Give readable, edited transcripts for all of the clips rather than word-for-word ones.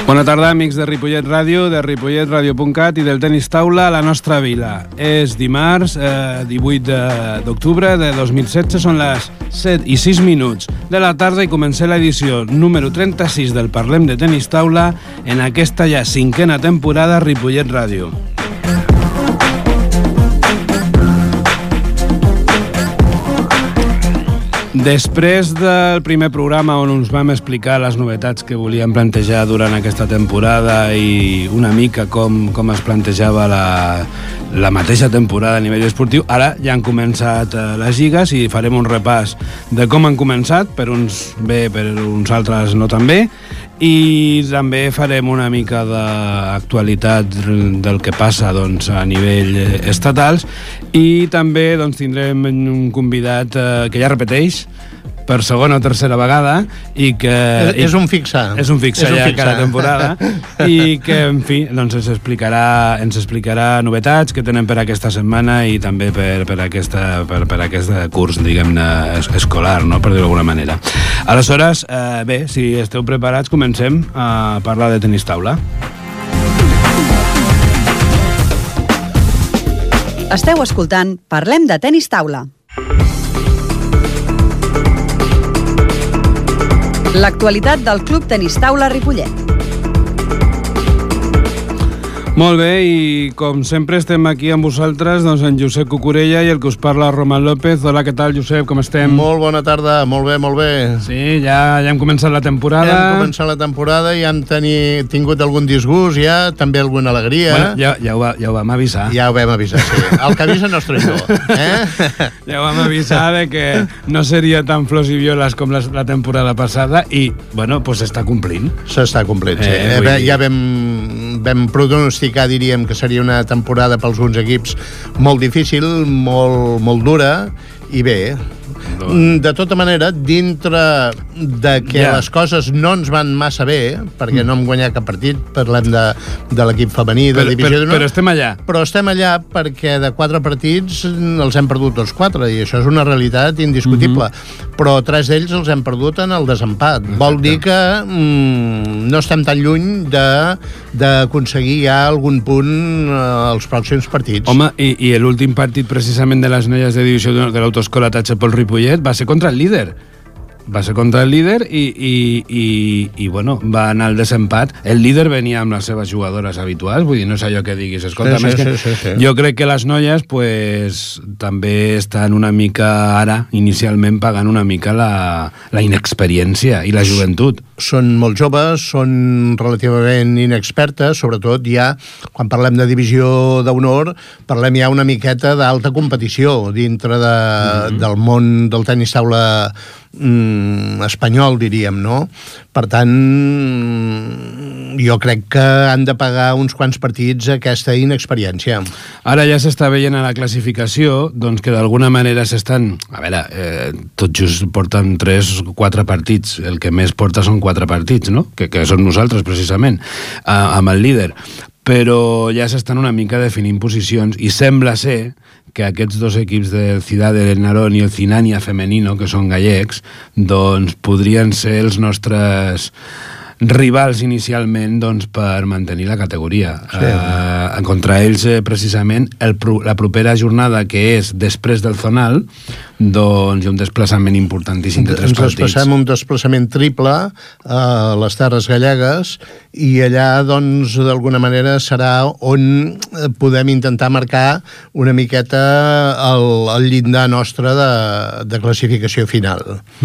Bona tarda, amics de Ripollet Ràdio, de ripolletradio.cat i del Tenis Taula a la nostra vila. És dimarts, 18 d'octubre de 2016, són les 7:06 de la tarda i comencem l'edició número 36 del Parlem de Tenis Taula en aquesta ja 5a temporada Ripollet Ràdio. Després del primer programa on us vam explicar les novetats que volíem plantejar durant aquesta temporada i una mica com es plantejava la mateixa temporada a nivell esportiu, ara ja han començat les lligues i farem un repàs de com han començat, per uns bé, per uns altres no tan bé, i també farem una mica d'actualitat del que passa a nivell estatals i també tindrem un convidat que ja repeteix per segona o tercera vegada i que... És un fixa. És un fixa ja cada temporada i que, en fi, ens explicarà novetats que tenen per aquesta setmana i també per aquest curs, diguem-ne, escolar, no?, per dir-ho d'alguna manera. Aleshores, bé, si esteu preparats, comencem a parlar de tenis taula. Esteu escoltant Parlem de Tenis Taula. L'actualitat del Club Tenis Taula Ripollet. Molt bé, i com sempre estem aquí amb vosaltres, en Josep Cucurella i el que us parla, Roman López. Hola, què tal, Josep, com estem? Molt bona tarda, molt bé, molt bé. Sí, ja hem començat la temporada. Ja hem començat la temporada i hem tingut algun disgust ja, també alguna alegria. Bueno, ja ho vam avisar. Ja ho vam avisar, sí. El que avisa no és traïdor. Ja ho vam avisar de que no seria tan flors i violes com la temporada passada i, bueno, doncs s'està complint. S'està complint, sí. Ja vam pronosticar, diríem, que seria una temporada pels uns equips molt difícil, molt dura, i bé, de tota manera, dintre de que les coses no ens van massa bé, perquè no hem guanyat cap partit, parlem de l'equip femení, de divisió d'honor... Però estem allà. Però estem allà perquè de 4 partits els hem perdut tots 4, i això és una realitat indiscutible. Però 3 d'ells els hem perdut en el desempat. Exacte. Vol dir que no estem tan lluny d'aconseguir ja algun punt als pròxims partits. Home, i l'últim partit precisament de les noies de divisió d'honor de l'autoescola Tachepol Ripollet va ser contra el líder. Va ser contra el líder i bueno, va anar al desempat. El líder venia amb les seves jugadores habituals, vull dir, no és allò que diguis. Escolta, sí. Jo crec que les noies pues, també estan una mica ara, inicialment, pagant una mica la inexperiència i la joventut. Són molt joves, són relativament inexpertes, sobretot ja, quan parlem de divisió d'honor, parlem ja una miqueta d'alta competició dintre del món del tenis taula espanyol, diríem, no? Per tant, jo crec que han de pagar uns quants partits aquesta inexperiència. Ara ja s'està veient a la classificació doncs que d'alguna manera s'estan... A veure, tot just porten 3 o 4 partits. El que més porta són 4 partits, no? Que som nosaltres, precisament, amb el líder. Però ja s'estan una mica definint posicions i sembla ser que aquests 2 equips del Ciudad del Narón i el Cinania Femenino, que són gallecs, doncs podrien ser els nostres rivals inicialment per mantenir la categoria. Sí. Contra ells, precisament, la propera jornada, que és després del Zonal, doncs hi ha un desplaçament importantíssim de 3 partits. Ens passem un desplaçament triple a les terres gallegues i allà, doncs, d'alguna manera serà on podem intentar marcar una miqueta el llindar nostre de classificació final.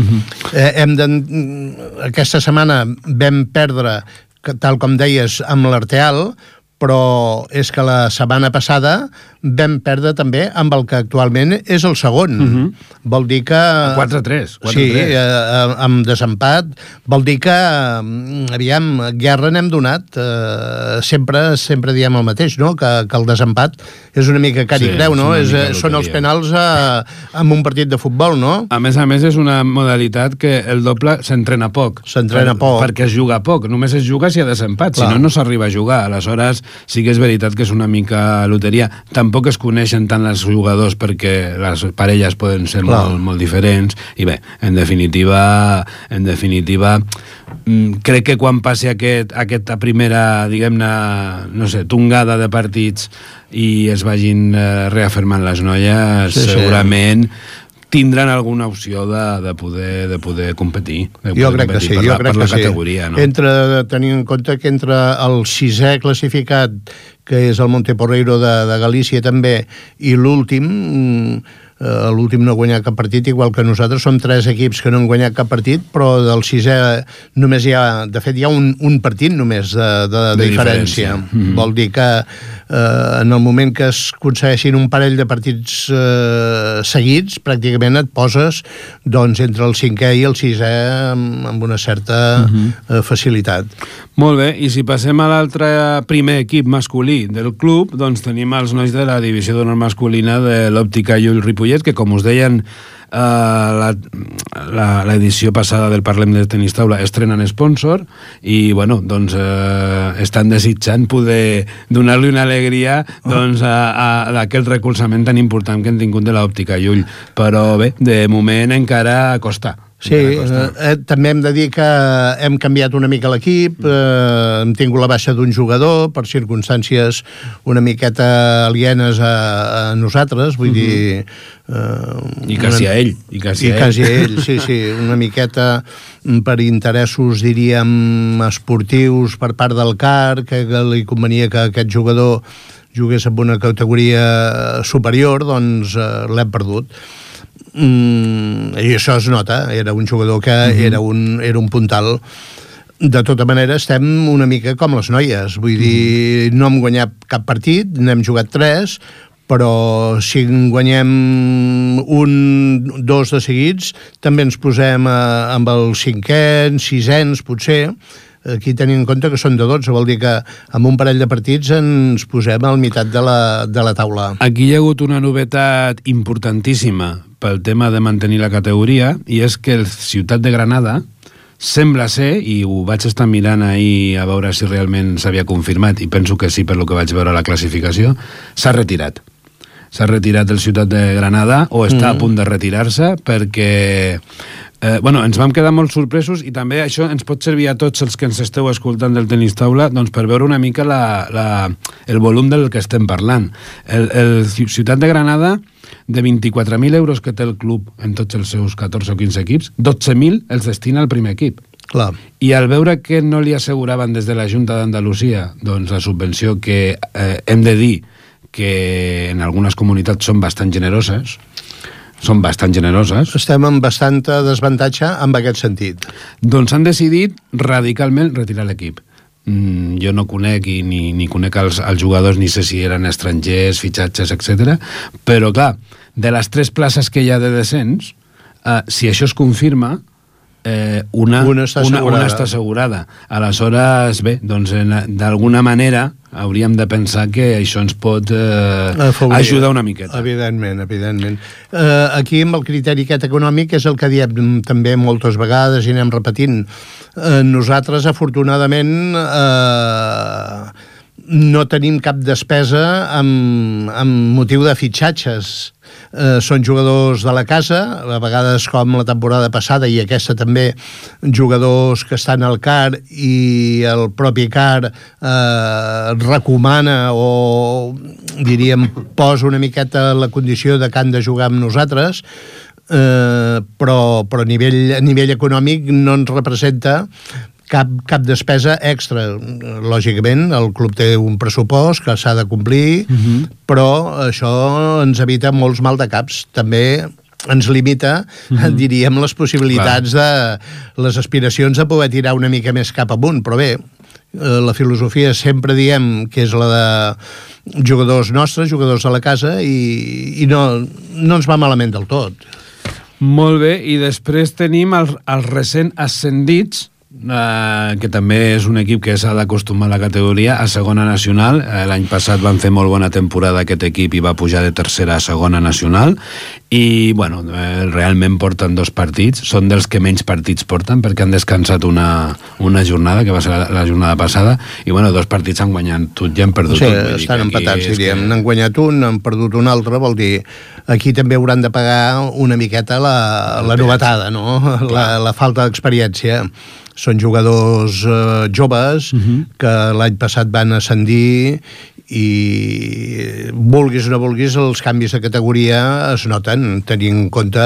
Aquesta setmana vam perdre, tal com deies, amb l'Arteal, però és que la setmana passada vam perdre també amb el que actualment és el segon. Vol dir que... 4-3. Sí, amb desempat. Vol dir que, aviam, guerra n'hem donat. Sempre diem el mateix, no? Que el desempat és una mica car i creu, no? Són els penals en un partit de futbol, no? A més, és una modalitat que el doble s'entrena poc. S'entrena poc. Perquè es juga poc. Només es juga si hi ha desempat. Si no, no s'arriba a jugar. Aleshores, sí que és veritat que és una mica loteria. Tampoc es coneixen tant els jugadors perquè les parelles poden ser molt diferents, i bé, en definitiva, crec que quan passi aquesta primera, diguem-ne, no sé, tongada de partits i es vagin reafirmant les noies, segurament tindran alguna opció de poder competir. Jo crec que sí, jo crec que sí. Categoria, no? Tenint en compte que entre el 6è classificat, que és el Monteporreiro de Galícia també, i l'últim no ha guanyat cap partit, igual que nosaltres. Som 3 equips que no han guanyat cap partit, però del 6è només hi ha, de fet, hi ha un partit només de diferència. Vol dir que en el moment que es aconsegueixin un parell de partits seguits, pràcticament et poses doncs, entre el 5è i el 6è amb una certa facilitat. Molt bé, i si passem a l'altre primer equip masculí del club, doncs tenim els nois de la divisió d'honor masculina de l'Òptica Llull Ripollet, que com us deien l'edició passada del Parlem de Tenis Taula estrenen sponsor i bueno, doncs estan desitjant poder donar-li una alegria doncs, d'aquest recolzament tan important que han tingut de l'Òptica Llull, però bé, de moment encara costa. Sí, també hem de dir que hem canviat una mica l'equip, hem tingut la baixa d'un jugador per circumstàncies una miqueta alienes a nosaltres, vull dir... I quasi a ell. I quasi a ell, sí, una miqueta per interessos, diríem, esportius per part del CAR, que li convenia que aquest jugador jugués en una categoria superior, doncs l'hem perdut. I això es nota, era un jugador que era un puntal. De tota manera estem una mica com les noies, vull dir, no hem guanyat cap partit, n'hem jugat 3, però si en guanyem 1, 2 de seguits també ens posem amb els 5ens, 6ens potser. Aquí tenim en compte que són de 12, vol dir que amb un parell de partits ens posem al meitat de la taula. Aquí hi ha hagut una novetat importantíssima pel tema de mantenir la categoria, i és que el Ciutat de Granada sembla ser, i ho vaig estar mirant ahir a veure si realment s'havia confirmat, i penso que sí per lo que vaig veure a la classificació, s'ha retirat. S'ha retirat el Ciutat de Granada, o està a punt de retirar-se, perquè ens vam quedar molt sorpresos, i també això ens pot servir a tots els que ens esteu escoltant del Tenis Taula doncs, per veure una mica el volum del que estem parlant. El Ciutat de Granada, de 24.000 euros que té el club en tots els seus 14 o 15 equips, 12.000 els destina al primer equip. Clar. I al veure que no li asseguraven des de la Junta d'Andalusia doncs, la subvenció que hem de dir que en algunes comunitats són bastant generoses, estem en bastant desavantatge en aquest sentit. Doncs han decidit radicalment retirar l'equip. Jo no conec ni conec els jugadors, ni sé si eren estrangers, fitxatges, etc. Però clar, de les 3 places que hi ha de descens, si això es confirma, una està assegurada. Aleshores, bé, doncs d'alguna manera hauríem de pensar que això ens pot ajudar una miqueta. Evidentment. Aquí amb el criteri aquest econòmic és el que diem també moltes vegades i anem repetint. Nosaltres, afortunadament, no tenim cap despesa amb motiu de fitxatges. Són jugadors de la casa, a vegades com la temporada passada i aquesta també, jugadors que estan al CAR i el propi CAR recomana o diríem posa una miqueta la condició de que han de jugar amb nosaltres, però a nivell econòmic no ens representa cap despesa extra. Lògicament, el club té un pressupost que s'ha de complir, però això ens evita molts maldecaps. També ens limita, diríem, les possibilitats de les aspiracions de poder tirar una mica més cap amunt. Però bé, la filosofia sempre diem que és la de jugadors nostres, jugadors de la casa, i no ens va malament del tot. Molt bé, i després tenim els recent ascendits que també és un equip que s'ha d'acostumar a la categoria, a segona nacional. L'any passat van fer molt bona temporada aquest equip i va pujar de tercera a segona nacional, i bueno, realment porten 2 partits, són dels que menys partits porten perquè han descansat una jornada, que va ser la jornada passada, i bueno, 2 partits han guanyat tot i han perdut un. Sí, estan empatats, diríem. N'han guanyat un, han perdut un altre, vol dir, aquí també hauran de pagar una miqueta la novetada, no? La falta d'experiència. Són jugadors joves que l'any passat van ascendir i vulguis o no vulguis els canvis de categoria es noten, tenint en compte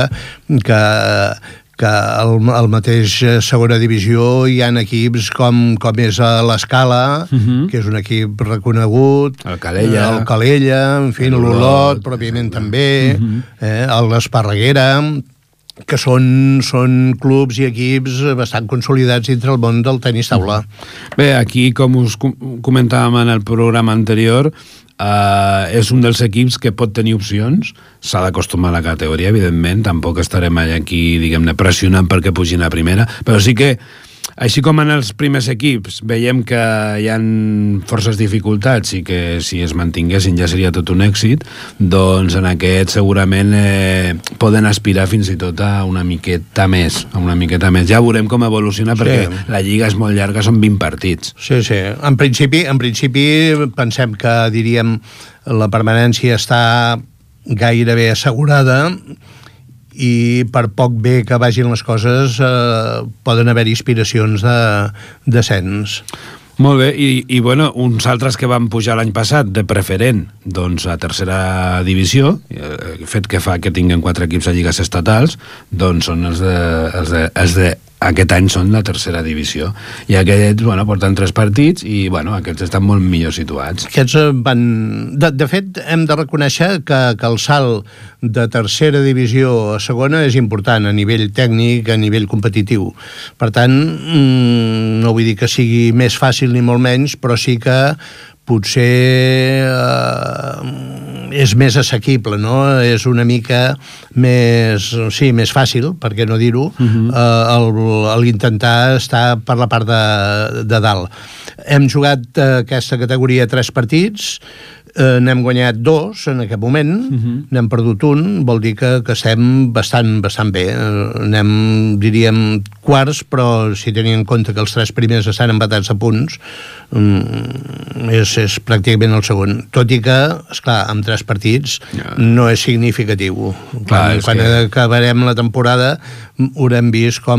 que al mateix segona divisió hi ha equips com és a l'Escala, que és un equip reconegut, el Calella, en fi, l'Olot, pròpiament també, l'Esparreguera, que són clubs i equips bastant consolidats dintre el món del tenis taula. Bé, aquí, com us comentàvem en el programa anterior, és un dels equips que pot tenir opcions, s'ha d'acostumar a la categoria, evidentment, tampoc estarem aquí, diguem-ne, pressionant perquè pugin a primera, però sí que, així com en els primers equips veiem que hi ha forces dificultats i que si es mantinguessin ja seria tot un èxit, doncs en aquest segurament poden aspirar fins i tot a una miqueta més. Ja veurem com evoluciona, perquè la lliga és molt llarga, són 20 partits. Sí. En principi pensem que, diríem, la permanència està gairebé assegurada, i per poc bé que vagin les coses poden haver inspiracions de descens. Molt bé, i bueno, uns altres que van pujar l'any passat de preferent, doncs a tercera divisió, el fet que fa que tinguin 4 equips a lligues estatals, doncs són els de aquest any són la tercera divisió, i aquests, bueno, porten 3 partits i, bueno, aquests estan molt millor situats. Aquests van... De fet, hem de reconèixer que el salt de tercera divisió a segona és important a nivell tècnic, a nivell competitiu. Per tant, no vull dir que sigui més fàcil ni molt menys, però sí que potser és més assequible, no? És una mica més fàcil, per què no dir-ho, l'intentar estar per la part de dalt. Hem jugat aquesta categoria 3 partits, n'hem guanyat 2 en aquest moment, n'hem perdut un, vol dir que estem bastant bé. Anem, diríem, quarts, però si tenim en compte que els 3 primers estan empatats a punts, és pràcticament el segon. Tot i que, esclar, amb 3 partits no és significatiu. Quan acabarem la temporada haurem vist com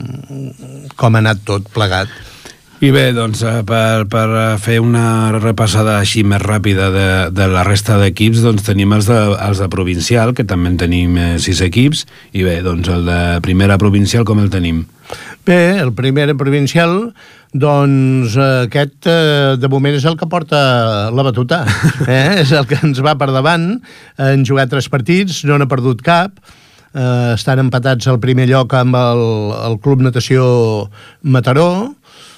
ha anat tot plegat. I bé, doncs, per fer una repassada així més ràpida de la resta d'equips, doncs tenim els de provincial, que també en tenim 6 equips, i bé, doncs el de primera provincial com el tenim? Bé, el primer provincial, doncs aquest de moment és el que porta la batuta, és el que ens va per davant. Han jugat 3 partits, no n'ha perdut cap, estan empatats al primer lloc amb el Club Natació Mataró,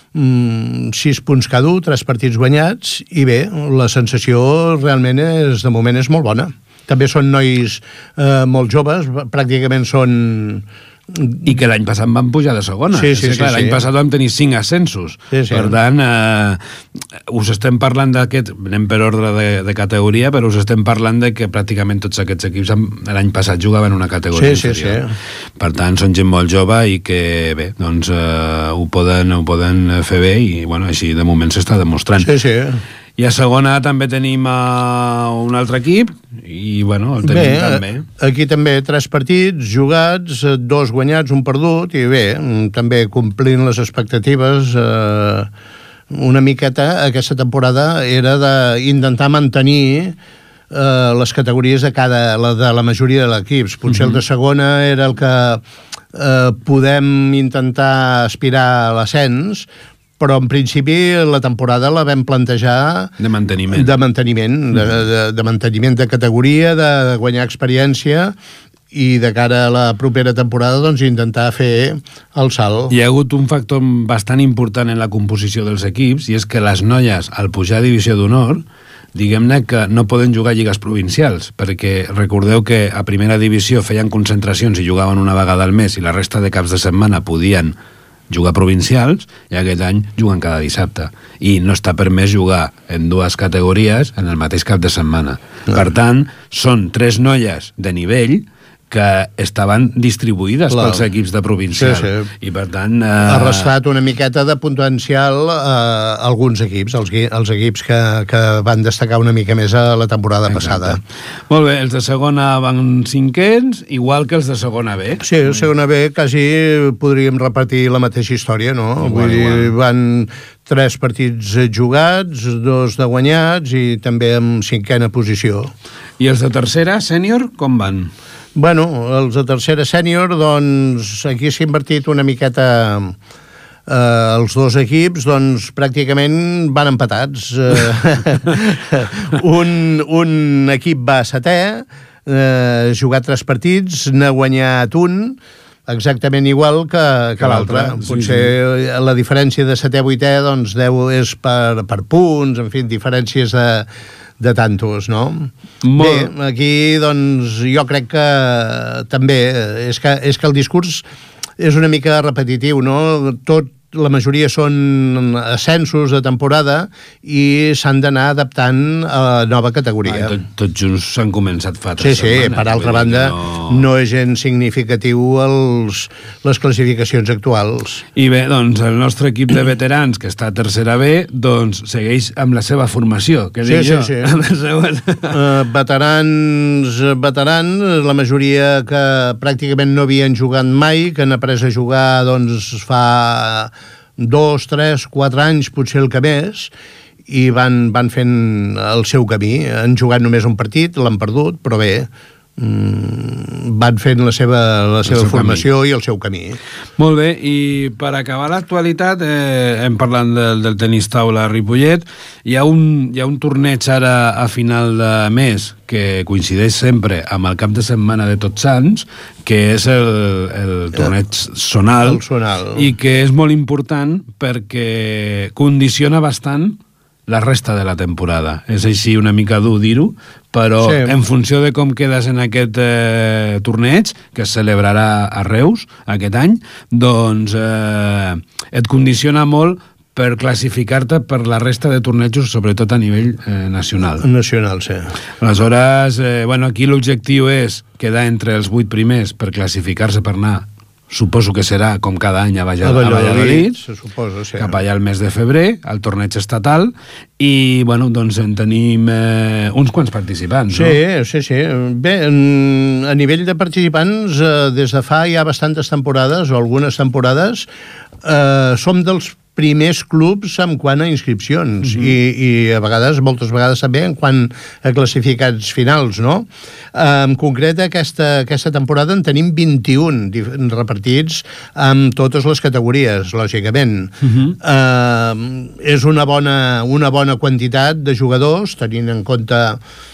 6 punts cada un, 3 partits guanyats, i bé, la sensació realment de moment és molt bona. També són nois molt joves, pràcticament són... I que l'any passat van pujar de segona. Sí. L'any passat vam tenir 5 ascensos. Sí. Per tant, us estem parlant d'aquest, anem per ordre de categoria, però us estem parlant de que pràcticament tots aquests equips l'any passat jugaven una categoria inferior. Sí. Per tant, són gent molt jove i que, bé, doncs ho poden fer bé i, bueno, així de moment s'està demostrant. Sí. I a segona també tenim un altre equip i, bueno, el tenim també. Aquí també 3 partits jugats, 2 guanyats, 1 perdut, i bé, també complint les expectatives. Una miqueta aquesta temporada era d'intentar mantenir les categories de la majoria de l'equips. Potser el de segona era el que podem intentar aspirar a l'ascens, però en principi la temporada la vam plantejar de manteniment, de manteniment de categoria, de guanyar experiència, i de cara a la propera temporada doncs intentar fer el salt. Hi ha hagut un factor bastant important en la composició dels equips, i és que les noies, al pujar a divisió d'honor, diguem-ne que no poden jugar a lligues provincials, perquè recordeu que a primera divisió feien concentracions i jugaven una vegada al mes, i la resta de caps de setmana podien jugar provincials i aquest any juguen cada dissabte. I no està permès jugar en dues categories en el mateix cap de setmana. Per tant, són 3 noies de nivell que estaven distribuïdes pels equips de provincial. I per tant... Ha restat una miqueta de potencial a alguns equips, els equips que van destacar una mica més a la temporada passada. Molt bé, els de segona van 5ens, igual que els de segona B. Sí, el segona B quasi podríem repetir la mateixa història, no? Vull dir, van 3 partits jugats, 2 de guanyats i també en 5a posició. I els de tercera, sènior, com van? Bueno, els de tercera sènior, doncs aquí s'ha invertit una miqueta els 2 equips, doncs pràcticament van empatats. Un equip va 7è, ha jugat 3 partits, n'ha guanyat un, exactament igual que l'altre. Potser la diferència de 7è a 8è doncs, és per punts, en fi, diferències de tantos, no? Bé, aquí, doncs, jo crec que també és que el discurs és una mica repetitiu, no? La majoria són ascensos de temporada i s'han d'anar adaptant a la nova categoria. Tots junts s'han començat fa 3 setmanes. Sí, per altra banda, no és gens significatiu les classificacions actuals. I bé, doncs, el nostre equip de veterans, que està a tercera B, doncs, segueix amb la seva formació, que dic jo. Sí. Veterans, la majoria que pràcticament no havien jugat mai, que han après a jugar, doncs, fa 2, 3, 4 anys, potser el que més, i van fent el seu camí. Han jugat només un partit, l'han perdut, però bé, van fent la seva formació camí. I el seu camí. Molt bé, i per acabar l'actualitat, hem parlat del tenis taula a Ripollet. Hi ha un torneig ara a final de mes que coincideix sempre amb el cap de setmana de Tots Sants, que és el torneig zonal, i que és molt important perquè condiciona bastant la resta de la temporada. És així una mica dur dir-ho, però en funció de com quedes en aquest torneig, que es celebrarà a Reus aquest any, doncs et condiciona molt per classificar-te per la resta de tornejos, sobretot a nivell nacional. Nacional, sí. Aleshores, aquí l'objectiu és quedar entre els 8 primers per classificar-se per anar, suposo que serà com cada any a Valladolid, se suposa, sí. Cap allà al mes de febrer, al torneig estatal, i doncs en tenim uns quants participants, no? Sí. Bé, a nivell de participants, des de fa ja bastantes temporades, o algunes temporades, som dels primers clubs en quant a inscripcions i a vegades, moltes vegades també en quant a classificats finals, no? En concret, aquesta temporada en tenim 21 repartits amb totes les categories, lògicament. És una bona quantitat de jugadors, tenint en compte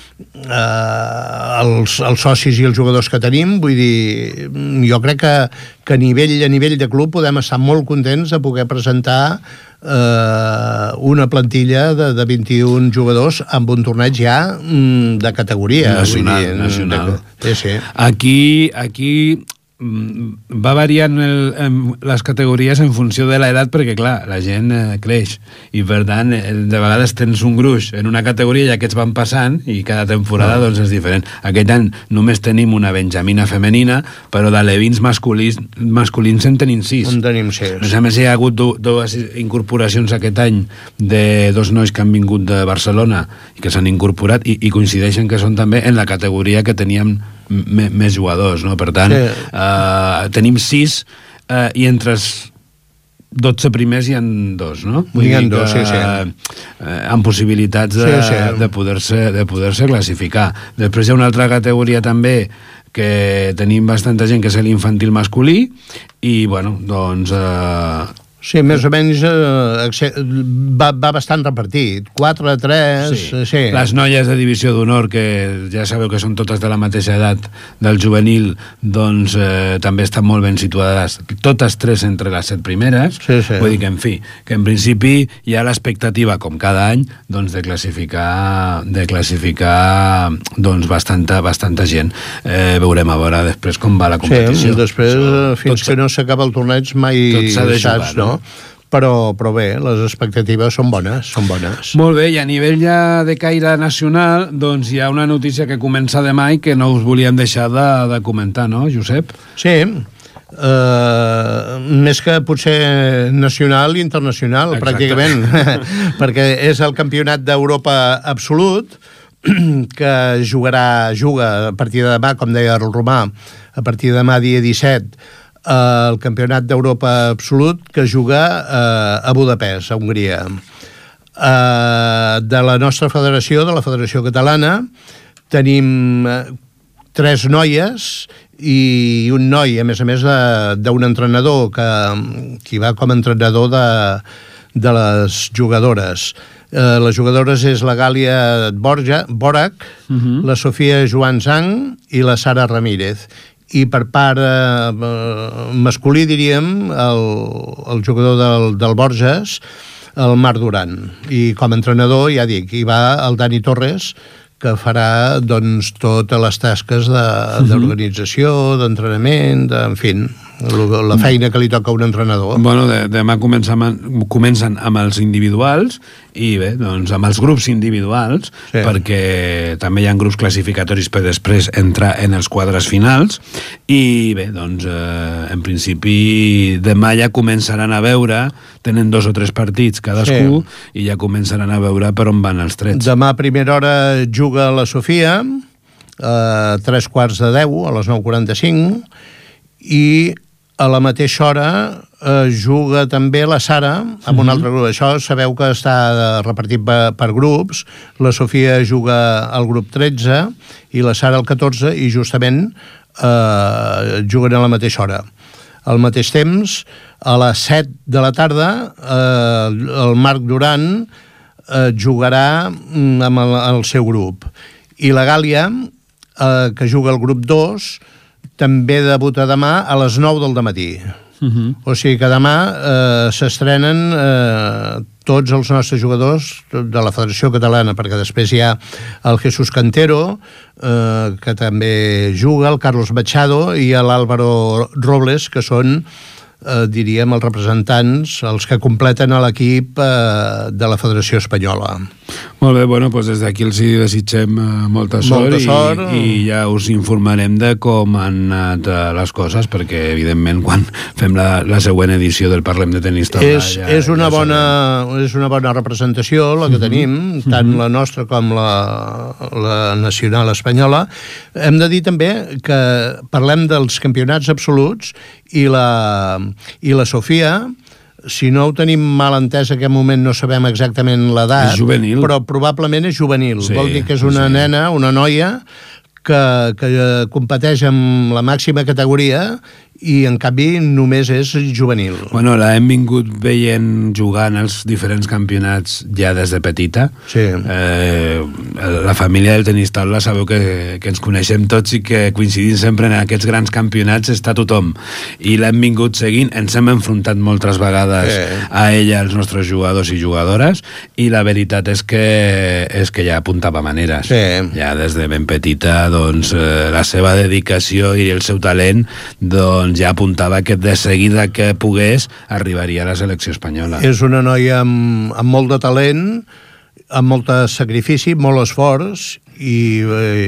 els socis i els jugadors que tenim. Vull dir, jo crec que a nivell de club podem estar molt contents de poder presentar una plantilla de 21 jugadors amb un torneig ja de categoria nacional. Sí. Aquí va variant les categories en funció de l'edat, perquè clar, la gent creix i per tant de vegades tens un gruix en una categoria i aquests van passant i cada temporada doncs és diferent. Aquest any només tenim una benjamina femenina, però d'alevins masculins en tenim 6. En tenim 6. A més, hi ha hagut 2 incorporacions aquest any de 2 nois que han vingut de Barcelona i que s'han incorporat i coincideixen que són també en la categoria que teníem més jugadors, no? Per tant, tenim 6 i entre els 12 primers hi ha 2, no? Hi ha 2, sí. Amb possibilitats de poder-se classificar. Després hi ha una altra categoria també que tenim bastanta gent, que és l'infantil masculí, i, doncs, Sí, més o menys va bastant repartit. 4-3... Sí. Les noies de divisió d'honor, que ja sabeu que són totes de la mateixa edat del juvenil, doncs també estan molt ben situades, totes 3 entre les 7 primeres. Sí. Vull dir que, en fi, que en principi hi ha l'expectativa, com cada any, doncs de classificar doncs bastanta gent. Veurem a veure després com va la competició. Sí, després, fins que no s'acaba el torneig, mai saps, no? Però bé, les expectatives són bones. Molt bé, i a nivell ja de caire nacional, doncs hi ha una notícia que comença demà i que no us volíem deixar de comentar, no, Josep? Sí, més que potser nacional i internacional. Exacte. Pràcticament, perquè és el campionat d'Europa absolut, que juga a partir de demà, com deia el Romà, a partir de demà dia 17, el campionat d'Europa absolut, que juga a Budapest, a Hongria. De la nostra federació, de la Federació Catalana, tenim 3 noies i un noi, a més d'un entrenador que va com a entrenador de les jugadores. Les jugadores és la Gàlia Borac, la Sofia Joan Zang i la Sara Ramírez. I per part masculí, diríem, el jugador del Borges, el Marc Duran. I com a entrenador, ja dic, hi va el Dani Torres, que farà doncs totes les tasques d'organització, d'entrenament, en fi, la feina que li toca a un entrenador. Bueno, demà comencen amb els individuals i bé, doncs amb els grups individuals, sí, perquè també hi ha grups classificatoris per després entrar en els quadres finals i bé, doncs en principi demà ja començaran a veure, tenen 2 o 3 partits cadascú, sí, i ja començaran a veure per on van els trets. Demà a primera hora juga la Sofia a 3:15, a les 9:45, i a la mateixa hora juga també la Sara amb un altre grup. Això sabeu que està repartit per grups. La Sofia juga al grup 13 i la Sara al 14, i justament juguen a la mateixa hora. Al mateix temps, a les 7 de la tarda, el Marc Duran jugarà amb el seu grup. I la Gàlia, que juga al grup 2, també debuta demà a les 9 del dematí. O sigui que demà s'estrenen tots els nostres jugadors de la Federació Catalana, perquè després hi ha el Jesús Cantero, que també juga, el Carlos Machado i l'Álvaro Robles, que són, diríem, els representants, els que completen l'equip de la Federació Espanyola. Molt bé, bueno, doncs des d'aquí els desitgem molta sort, i ja us informarem de com han anat les coses, perquè evidentment quan fem la següent edició del Parlem de Tenis Taula és una bona representació la que tenim, tant la nostra com la nacional espanyola. Hem de dir també que parlem dels campionats absoluts i la Sofia, si no ho tenim mal entès, en aquest moment no sabem exactament l'edat, però probablement és juvenil. Sí, vol dir que és una nena, una noia, que competeix amb la màxima categoria i en canvi només és juvenil. Bueno, l'hem vingut veient jugar en els diferents campionats ja des de petita. Sí. La família del tenis taula sabeu que ens coneixem tots i que coincidim sempre en aquests grans campionats està tothom. I l'hem vingut seguint, ens hem enfrontat moltes vegades a ella, als nostres jugadors i jugadores, i la veritat és que ja apuntava maneres. Ja des de ben petita, doncs, la seva dedicació i el seu talent, doncs, ja apuntava que de seguida que pogués arribaria a la selecció espanyola. És una noia amb molt de talent, amb molt de sacrifici, molt esforç, i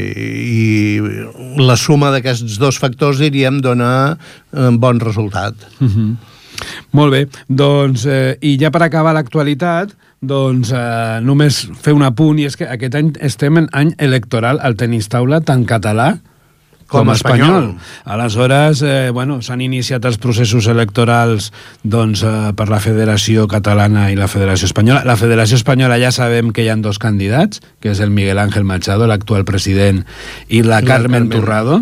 la suma d'aquests 2 factors, diríem, dona bon resultat. Molt bé, doncs, i ja per acabar l'actualitat, doncs només fer un apunt, i és que aquest any estem en any electoral al tenis taula, tant català com espanyol. Aleshores, s'han iniciat els processos electorals per la Federació Catalana i la Federació Espanyola. La Federació Espanyola ja sabem que hi ha 2 candidats, que és el Miguel Ángel Machado, l'actual president, i la Carmen Torrado,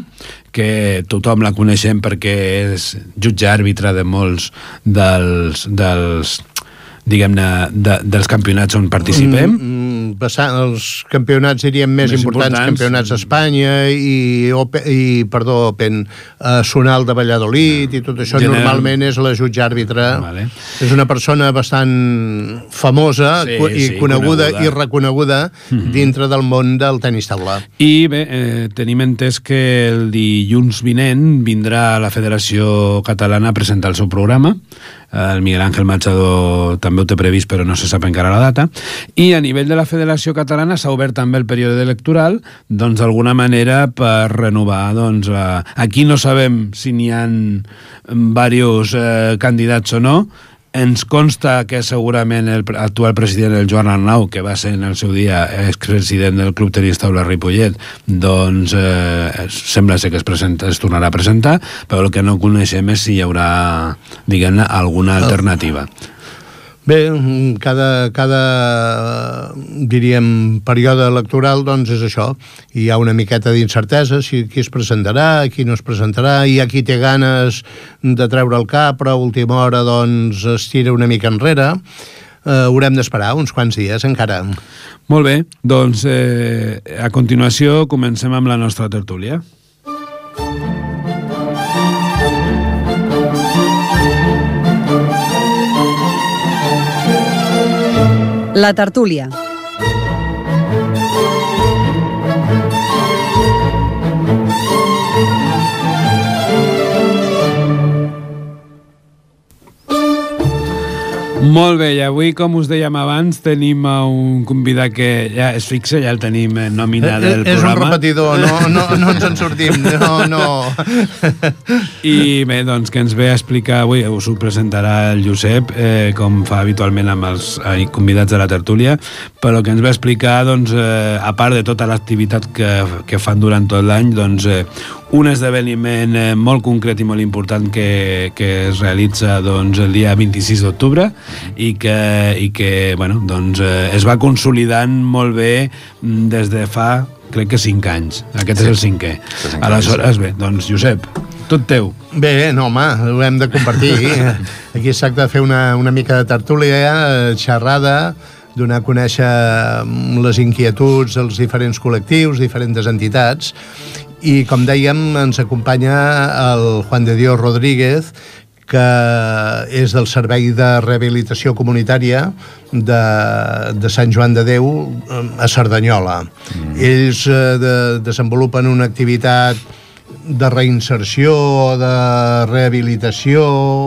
que tothom la coneixem perquè és jutge àrbitre de molts dels diguem-ne, dels campionats on participem. Els campionats, diríem, més importants, campionats d'Espanya i Open, Sonal de Valladolid i tot això, normalment és la jutge àrbitre. Vale. És una persona bastant famosa coneguda i reconeguda dintre del món del tenis taula. I bé, tenim entès que el dilluns vinent vindrà a la Federació Catalana a presentar el seu programa. El Miguel Ángel Machado també ho té previst, però no se sap encara la data. I a nivell de la Federació Catalana s'ha obert també el període electoral, doncs d'alguna manera per renovar, doncs aquí no sabem si n'hi ha diversos candidats o no. Ens consta que segurament l'actual president, el Joan Arnau, que va ser en el seu dia expresident del Club Tenis Taula Ripollet, doncs sembla ser que es tornarà a presentar, però el que no coneixem és si hi haurà, diguem-ne, alguna alternativa. Bé, cada diríem, període electoral, doncs és això. Hi ha una miqueta d'incertesa, si qui es presentarà, qui no es presentarà, hi ha qui té ganes de treure el cap, però a última hora, doncs, es tira una mica enrere. Haurem d'esperar uns quants dies encara. Molt bé, doncs a continuació comencem amb la nostra tertúlia. La tertúlia. Molt bé, i avui, com us dèiem abans, tenim un convidat que ja és fixe, ja el tenim nominat del programa. És un repetidor, no ens en sortim, no. I bé, doncs, que ens ve a explicar avui, us ho presentarà el Josep, com fa habitualment amb els convidats de la tertúlia, però que ens ve a explicar, doncs, a part de tota l'activitat que fan durant tot l'any, doncs, un esdeveniment molt concret i molt important que es realitza doncs, el dia 26 d'octubre i que bueno, doncs, es va consolidant molt bé des de fa, crec que 5 anys. Aquest és el 5è. Aleshores, bé, doncs, Josep, tot teu. Bé, no, home, ho hem de compartir. Aquí es tracta de fer una mica de tertúlia, xerrada, donar a conèixer les inquietuds dels diferents col·lectius, diferents entitats, i com dèiem ens acompanya el Juan de Dios Rodríguez, que és del Servei de Rehabilitació Comunitària de Sant Joan de Déu a Cerdanyola. Ells desenvolupen una activitat de reinserció, de rehabilitació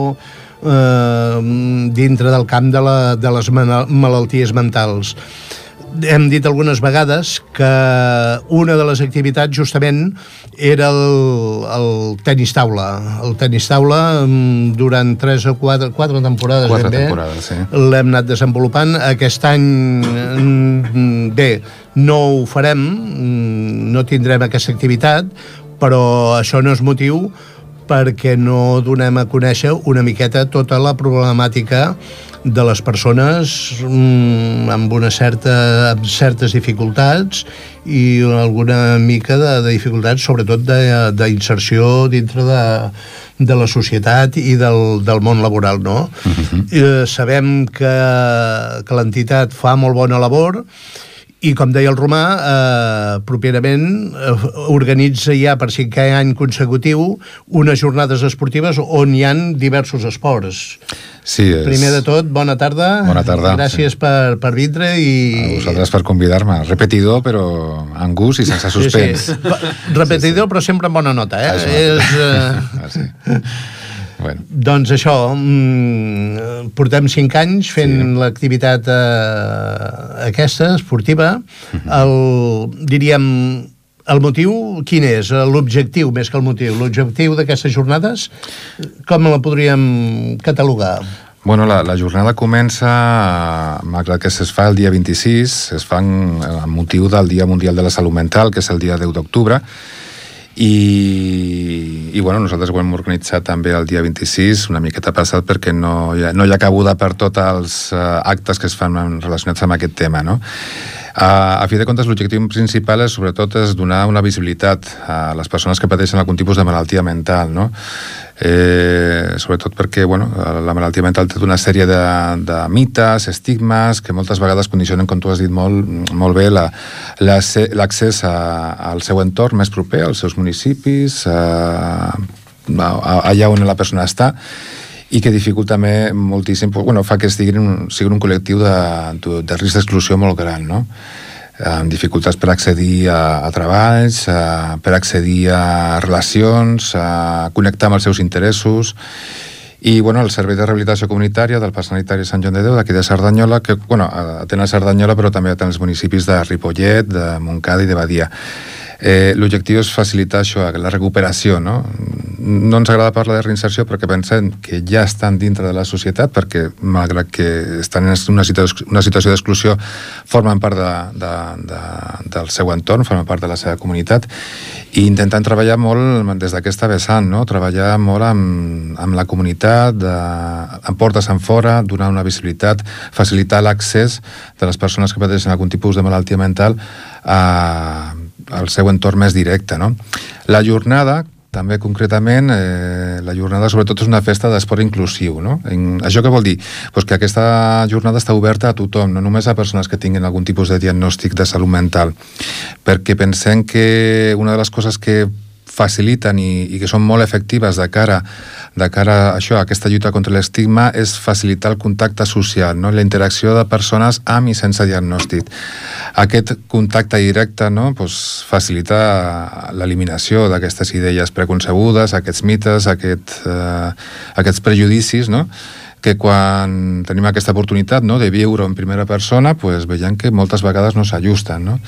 dintre del camp de les malalties mentals. Hem dit algunes vegades que una de les activitats justament era el tenis taula. El tenis taula durant 3 o 4 temporades, sí. L'hem anat desenvolupant. Aquest any bé, no ho farem, no tindrem aquesta activitat, però això no és motiu perquè no donem a conèixer una miqueta tota la problemàtica de les persones amb certes dificultats i alguna mica de dificultats, sobretot d'inserció dintre de la societat i del món laboral, no? Sabem que l'entitat fa molt bona labor i, com deia el Romà, properament organitza ja per 5è any consecutiu unes jornades esportives on hi ha diversos esports. Sí, Primer de tot, bona tarda. Bona tarda. Gràcies per vindre i... A vosaltres per convidar-me. Repetidor, però amb gust i sense suspens. Sí. Repetidor, però sempre amb bona nota, Sí. Bueno. Doncs això, portem 5 anys fent l'activitat aquesta, esportiva. Diríem, el motiu, quin és? L'objectiu, més que el motiu. L'objectiu d'aquestes jornades, com la podríem catalogar? Bueno, la jornada comença, malgrat que es fa el dia 26, es fa amb motiu del Dia Mundial de la Salut Mental, que és el dia 10 d'octubre, i bueno, nosaltres ho hem organitzat també el dia 26, una miqueta passat, perquè no hi ha cabuda per tots els actes que es fan relacionats amb aquest tema, no? A fi de comptes, l'objectiu principal sobretot és donar una visibilitat a les persones que pateixen algun tipus de malaltia mental, no? Sobretot perquè la malaltia mental té una sèrie de mites, estigmes, que moltes vegades condicionen, com tu has dit molt bé, l'accés al seu entorn més proper, als seus municipis, allà on la persona està, i que dificulta també moltíssim, fa que siguin un col·lectiu de risc d'exclusió molt gran, no? Amb dificultats per accedir a treballs, per accedir a relacions, a connectar amb els seus interessos. I el Servei de Rehabilitació Comunitària del Parc Sanitari Sant Joan de Déu, d'aquí de Cerdanyola, que atén a Cerdanyola, però també atén els municipis de Ripollet, de Montcada i de Badia. L'objectiu és facilitar això, la recuperació, no? No ens agrada parlar de reinserció perquè pensem que ja estan dintre de la societat, perquè malgrat que estan en una situació d'exclusió formen part del seu entorn, formen part de la seva comunitat, i intentant treballar molt des d'aquesta vessant, no? Treballar molt amb la comunitat, amb portes enfora, donar una visibilitat, facilitar l'accés de les persones que pateixen algun tipus de malaltia mental al seu entorn més directe, no? La jornada, també concretament, la jornada sobretot és una festa d'esport inclusiu, no? Això què vol dir? Pues que aquesta jornada està oberta a tothom, no només a persones que tinguin algun tipus de diagnòstic de salut mental, perquè pensem que una de les coses que faciliten i que són molt efectives de cara a això, a aquesta lluita contra l'estigma, és facilitar el contacte social, no? La interacció de persones amb i sense diagnòstic. Aquest contacte directe, no? Facilita l'eliminació d'aquestes idees preconcebudes, aquests mites, aquests prejudicis, no? Que quan tenim aquesta oportunitat, no? De viure en primera persona, veiem que moltes vegades no s'ajusten, no?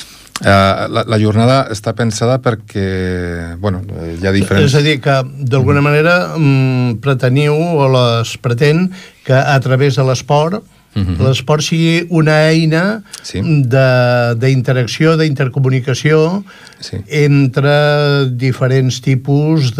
La jornada està pensada perquè hi ha diferents... És a dir, que d'alguna manera preteniu o es pretén que a través de l'esport l'esport sigui una eina d'interacció, d'intercomunicació entre diferents tipus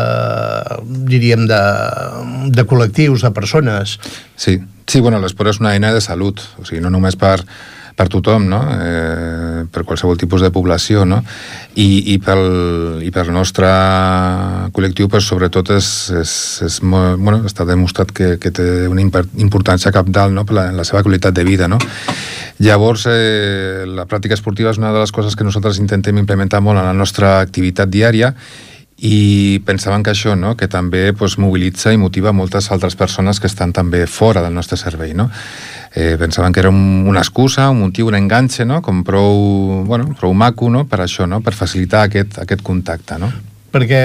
de col·lectius, de persones. Sí, l'esport és una eina de salut, o sigui, no només per tothom, no? Per qualsevol tipus de població, no? I pel nostre col·lectiu, sobretot està demostrat que té una importància cabdal, no? En la seva qualitat de vida, no? Llavors, la pràctica esportiva és una de les coses que nosaltres intentem implementar molt en la nostra activitat diària, i pensaven que això, no? Que també mobilitza i motiva moltes altres persones que estan també fora del nostre servei, no? Pensaven que era una excusa, un motiu, un enganxe, no? Com prou maco, no? Per això, no? Per facilitar aquest contacte, no? Perquè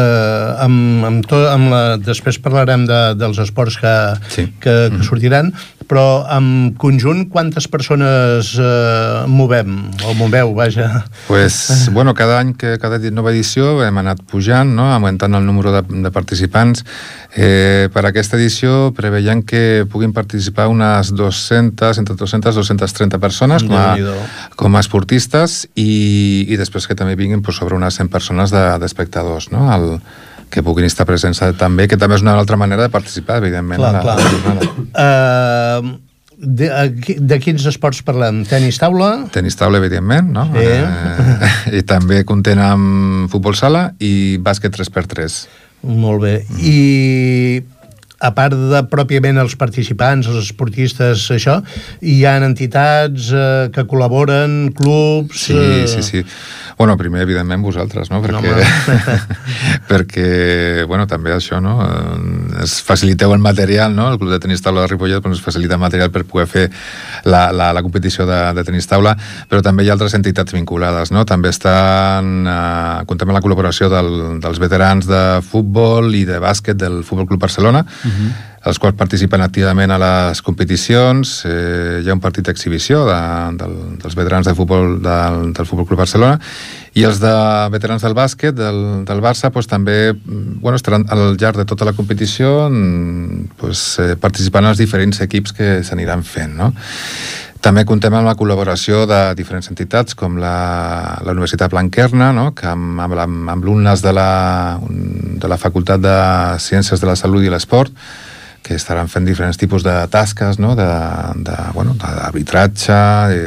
després parlarem dels esports que sortiran, però en conjunt quantes persones movem, o moveu, vaja? Cada any, cada nova edició hem anat pujant, no? Augmentant el número de participants. Per aquesta edició preveiem que puguin participar unes 200, entre 200 i 230 persones com a esportistes, i després que també vinguin sobre unes 100 persones d'espectadors, no? Que puguin estar presents també, que també és una altra manera de participar, evidentment, a la jornada. De quins esports parlem? Tenis taula? Tenis taula, evidentment, no? I també comptem amb futbol sala i bàsquet 3x3. Molt bé. I a part de pròpiament els participants, els esportistes, això, hi ha entitats que col·laboren, clubs... Sí. Primer, evidentment, vosaltres, no? Perquè també això, no? Es faciliteu el material, no? El Club de Tenis Taula de Ripollet ens facilita material per poder fer la competició de tenis taula, però també hi ha altres entitats vinculades, no? També comptem amb la col·laboració dels veterans de futbol i de bàsquet del Futbol Club Barcelona, els quals participen activament a les competicions. Hi ha un partit d'exhibició dels veterans de futbol del Futbol Club Barcelona, i els de veterans del bàsquet del Barça també estaran al llarg de tota la competició participant en els diferents equips que s'aniran fent, no? També comptem amb la col·laboració de diferents entitats, com la Universitat Blanquerna, no? Que amb alumnes de la Facultat de Ciències de la Salut i l'Esport, que estaran fent diferents tipus de tasques, no? D'arbitratge,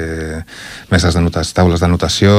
taules d'anotació,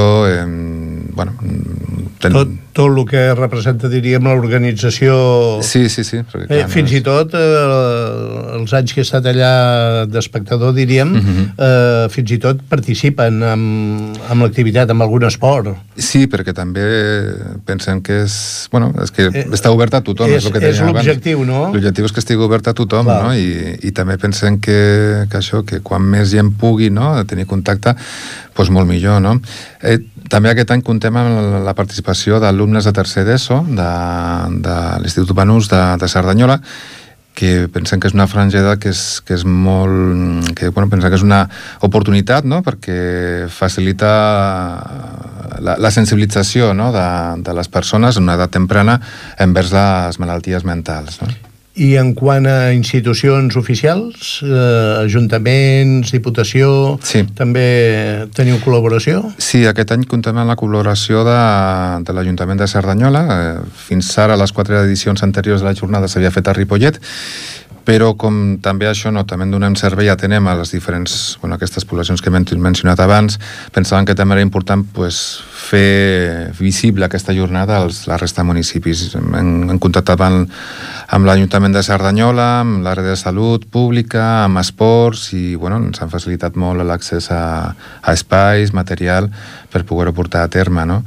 tot el que representa, diríem, l'organització. Sí. Fins i tot els anys que he estat allà d'espectador, diríem, fins i tot participen amb l'activitat, amb algun esport. Sí, perquè també pensem que és que està obert a tothom. És l'objectiu, no? L'objectiu és que estigui obert a tothom, no? I també pensem que això, que quan més gent pugui, no?, tenir contacte, doncs molt millor, no? També aquest any comptem amb la participació d'alumnes de tercer d'ESO de l'Institut Banús de Cerdanyola, que pensem que és una franja d'edat que és molt... pensem que és una oportunitat, no?, perquè facilita la sensibilització, no?, de les persones en una edat temprana envers les malalties mentals, no? I en quant a institucions oficials, ajuntaments, diputació, també teniu col·laboració? Sí, aquest any comptem amb la col·laboració de l'Ajuntament de Cerdanyola. Fins ara, les 4 edicions anteriors de la jornada s'havia fet a Ripollet, però com també això, també donem servei, atenem a les diferents, aquestes poblacions que hem mencionat abans, pensàvem que també era important fer visible aquesta jornada a la resta de municipis. Hem contactat amb l'Ajuntament de Cerdanyola, amb l'àrea de salut pública, amb esports, i ens han facilitat molt l'accés a espais, material, per poder-ho portar a terme, no?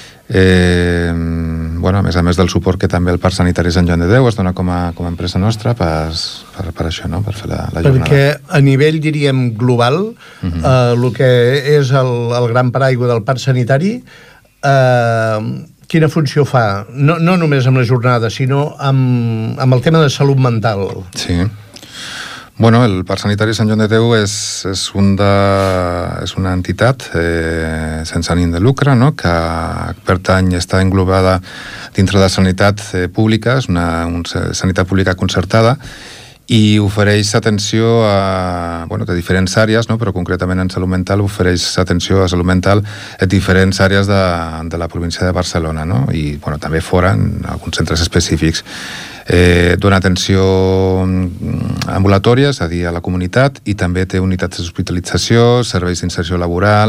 A més del suport que també el Parc Sanitari Sant Joan de Déu es dona com a empresa nostra per això, no?, per fer la jornada. Perquè a nivell, diríem, global, el que és el gran paraigua del Parc Sanitari, quina funció fa? No només amb la jornada, sinó amb el tema de salut mental. Sí. El Parc Sanitari Sant Joan de Déu és una entitat sense ànim de lucre, no?, que pertany, està englobada dintre de la sanitat pública, és una sanitat pública concertada, i ofereix atenció de diferents àrees, no?, però concretament en salut mental ofereix atenció a salut mental en diferents àrees de la província de Barcelona, no?, i també fora, en alguns centres específics. Dona atenció ambulatòria, és a dir, a la comunitat, i també té unitats d'hospitalització, serveis d'inserció laboral,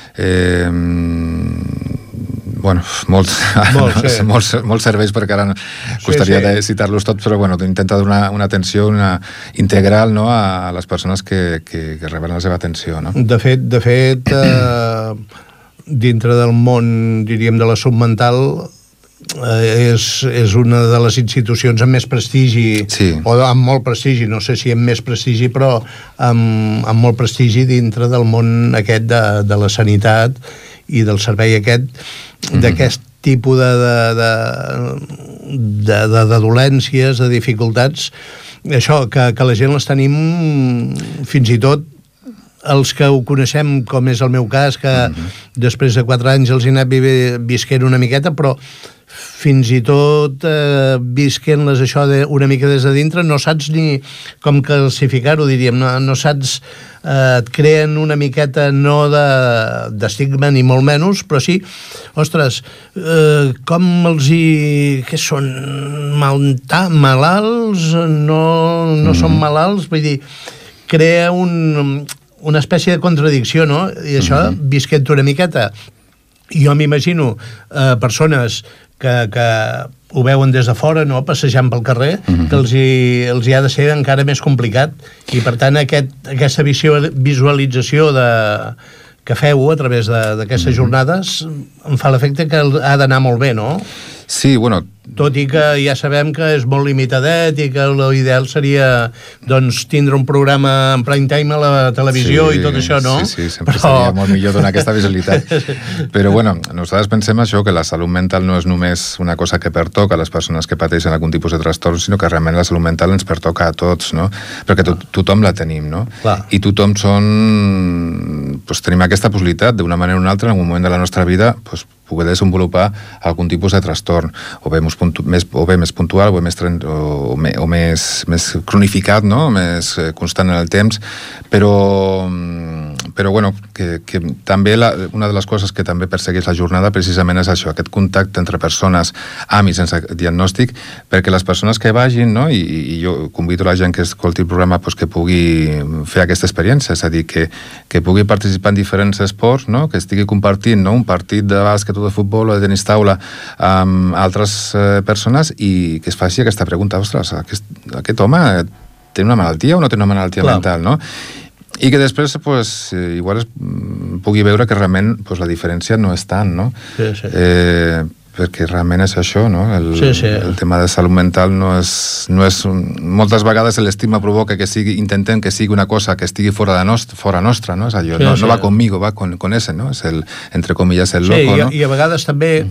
molts serveis, perquè ara costaria de citar-los tots, però intenta donar una atenció integral, no?, a les persones que reben la seva atenció, no? De fet, dintre del món, diríem, de la salut mental, és una de les institucions amb més prestigi, o amb molt prestigi, no sé si amb més prestigi, però amb molt prestigi dintre del món aquest de la sanitat i del servei d'aquest tipus de dolències, de dificultats, això, que la gent les tenim fins i tot els que ho coneixem, com és el meu cas, que després de 4 anys els he anat visquent una miqueta, però fins i tot visquent-les això una mica des de dintre, no saps ni com classificar-ho, diríem, no saps, et creen una miqueta no d'estigma ni molt menys, però sí, ostres, com què són, malalts, no són malalts, vull dir, crea una espècie de contradicció, no? I això, visquent una miqueta. Jo m'imagino persones que ho veuen des de fora, no?, passejant pel carrer, que els hi ha de ser encara més complicat, i per tant aquesta visualització que feu a través d'aquestes jornades em fa l'efecte que ha d'anar molt bé, no? Sí, tot i que ja sabem que és molt limitadet i que l'ideal seria, tindre un programa en prime time a la televisió i tot això, no? Sí, sempre seria molt millor donar aquesta visibilitat. Però, nosaltres pensem això, que la salut mental no és només una cosa que pertoca a les persones que pateixen algun tipus de trastorn, sinó que realment la salut mental ens pertoca a tots, no? Perquè tothom la tenim, no? I tothom tenim aquesta possibilitat, d'una manera o una altra, en algun moment de la nostra vida, poder desenvolupar algun tipus de trastorn, o bé més puntual, o més cronificat, no?, més constant en el temps, però bueno, que també una de les coses que també persegueix la jornada precisament és això, aquest contacte entre persones amb i sense diagnòstic, perquè les persones que vagin, no? I jo convido la gent que escolti el programa pues, que pugui fer aquesta experiència, és a dir, que pugui participar en diferents esports, no? Que estigui compartint, no? Un partit de bàsquet o de futbol o de tenis taula amb altres persones i que es faci aquesta pregunta, ostres, aquest home té una malaltia o no té una malaltia mental, no? I que després, pues, igual pugui veure que realment pues, la diferència no és tant, no? Sí. Perquè realment és això, no? El tema de salut mental no és... Moltes vegades l'estigma provoca que intentem que sigui una cosa que estigui fora nostra, no? És allò, no va conmigo, va con ese, no? És entre comillas, el loco, no? I a vegades també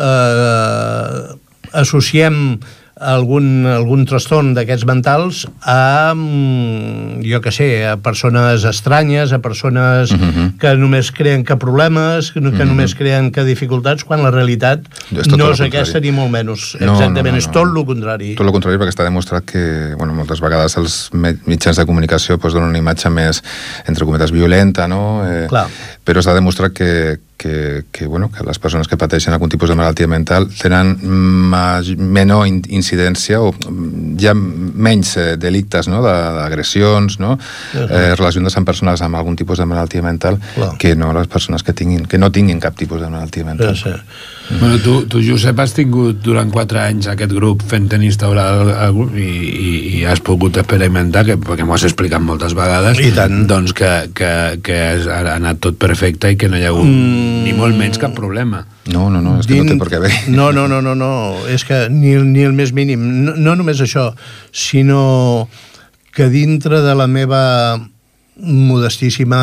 associem algun trastorn d'aquests mentals a, jo què sé, a persones estranyes, a persones que només creen que problemes, que només creen que dificultats, quan la realitat no és aquesta ni molt menys. Exactament, és tot el contrari. Tot el contrari, perquè està demostrat que, bueno, moltes vegades els mitjans de comunicació donen una imatge més, entre cometes, violenta, no? Però s'ha demostrat que les persones que pateixen algun tipus de malaltia mental tenen menor incidència o hi ha menys delictes, no? D'agressions, no? Relacionades amb persones amb algun tipus de malaltia mental que no les persones que no tinguin cap tipus de malaltia mental. Bueno, tu, Josep, has tingut durant 4 anys aquest grup fent tenis taula i has pogut experimentar, perquè m'ho has explicat moltes vegades, doncs que ha anat tot perfecte i que no hi ha hagut ni molt menys cap problema. No, és que no té per què haver. No, és que ni el més mínim. No només això, sinó que dintre de la meva modestíssima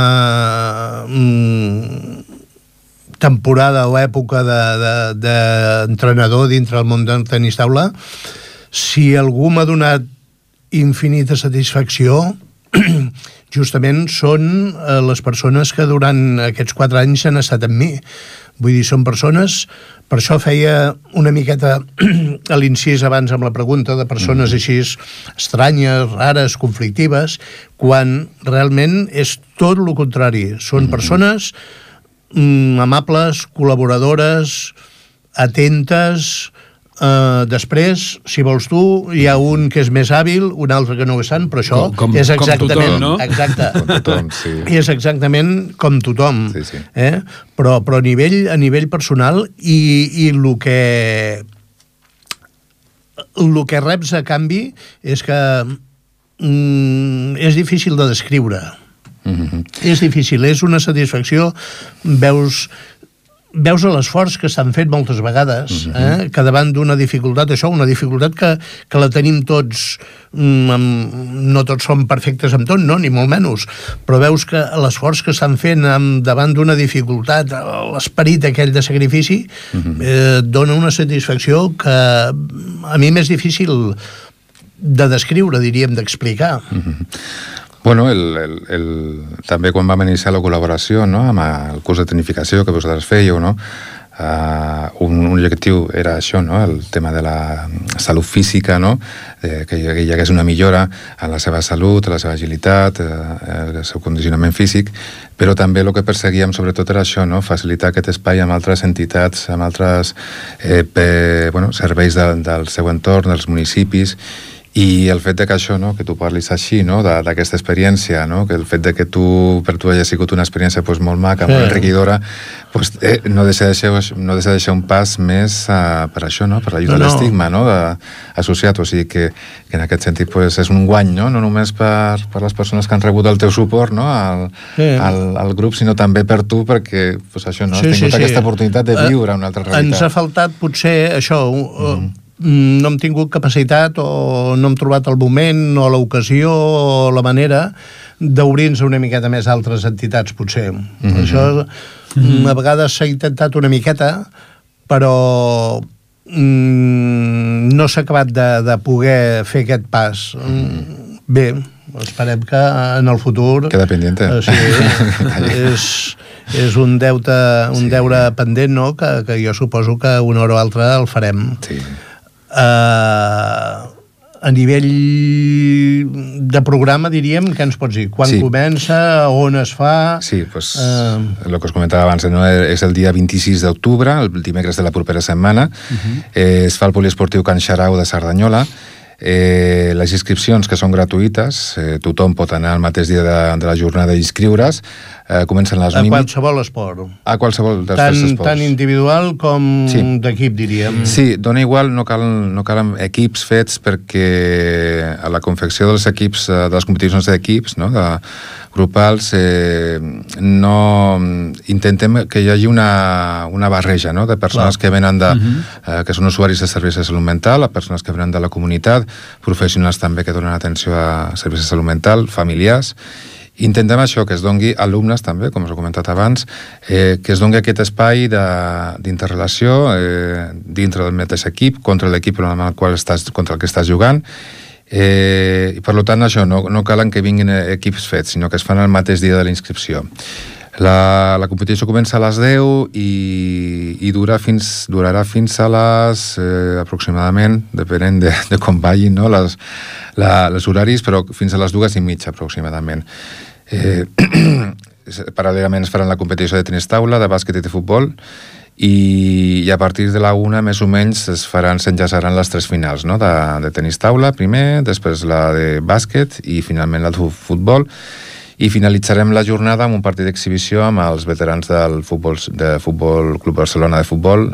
temporada o època d'entrenador dintre el món del tenis taula, si algú m'ha donat infinita satisfacció, justament són les persones que durant aquests 4 anys han estat amb mi. Vull dir, són persones... Per això feia una miqueta a l'incís abans amb la pregunta de persones així estranyes, rares, conflictives, quan realment és tot el contrari. Són persones amables, col·laboradores, atentes. Després, si vols tu, hi ha un que és més hàbil, un altre que no ho és tant, però això és exactament... Com tothom, no? Exacte. Com tothom, sí. És exactament com tothom. Sí. Però a nivell personal i el que reps a canvi és que és difícil de descriure. És difícil, és una satisfacció. Veus l'esforç que s'han fet moltes vegades, que davant d'una dificultat, una dificultat que la tenim tots, no tots som perfectes amb tot, no, ni molt menys, però veus que l'esforç que estan fent davant d'una dificultat, l'esperit aquell de sacrifici, dona una satisfacció que a mi m'és difícil de descriure, diríem, d'explicar. Bueno, també quan vam iniciar la col·laboració, no?, amb el curs de tecnificació que vosaltres fèieu, no?, un objectiu era això, no?, el tema de la salut física, no?, que hi hagués una millora en la seva salut, en la seva agilitat, el seu condicionament físic, però també el que perseguíem sobretot era això, no?, facilitar aquest espai amb altres entitats, amb altres serveis del seu entorn, dels municipis. I el fet de que això, no, que tu parlis així, no, d'aquesta experiència, no, que el fet de que per tu hagi sigut una experiència pues, molt maca, molt enriquidora, pues, no deixa de ser un pas més per això, no, per la lluita a l'estigma, no, associat. O sigui que en aquest sentit pues, és un guany, no només per les persones que han rebut el teu suport, no, al grup, sinó també per tu, perquè pues, això, no, has tingut aquesta oportunitat de viure una altra realitat. Ens ha faltat potser això... no hem tingut capacitat o no hem trobat el moment o l'ocasió o la manera d'obrir-nos una miqueta més a altres entitats, potser. Això a vegades s'ha intentat una miqueta, però no s'ha acabat de poder fer aquest pas. Bé, esperem que en el futur... Queda pendiente. És un deure pendent, no?, que jo suposo que una hora o altra el farem. Sí. a nivell de programa, diríem, què ens pots dir? Quan comença, on es fa? Sí, doncs, el que us comentava abans, no? És el dia 26 d'octubre, el dimecres de la propera setmana. Es fa el poliesportiu Can Xarau de Cerdanyola. Les inscripcions, que són gratuïtes, tothom pot anar al mateix dia de la jornada i inscriure's. Comencen les 1:30. A qualsevol esport. A qualsevol dels tres esports. Tant individual com d'equip, diríem. Sí, dona igual, no calen equips fets, perquè a la confecció dels equips, de les competicions d'equips, no?, grupals, intentem que hi hagi una barreja, no?, de persones que venen que són usuaris de serveis de salut mental, a persones que venen de la comunitat, professionals també que donen atenció a serveis de salut mental, familiars. Intentem això, que es dongui alumnes també, com us he comentat abans, que es dongui aquest espai d'interrelació dintre del mateix equip, contra l'equip contra el que estàs jugant, i per tant això, no calen que vinguin equips fets, sinó que es fan el mateix dia de la inscripció. La competició comença a les 10 i durarà fins a les aproximadament, depenent de com vagin, no?, els horaris, però fins a les 2:30 aproximadament. Paral·lelament es faran la competició de tenis taula, de bàsquet i de futbol, i a partir de la 1 més o menys s'enllaçaran les 3 finals, no?, de tenis taula primer, després la de bàsquet i finalment la de futbol, i finalitzarem la jornada amb un partit d'exhibició amb els veterans del Futbol Club Barcelona de futbol